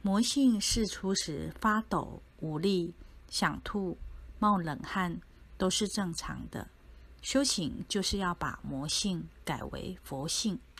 魔性释出时发抖、无力、想吐、冒冷汗，都是正常的。修行就是要把魔性改为佛性。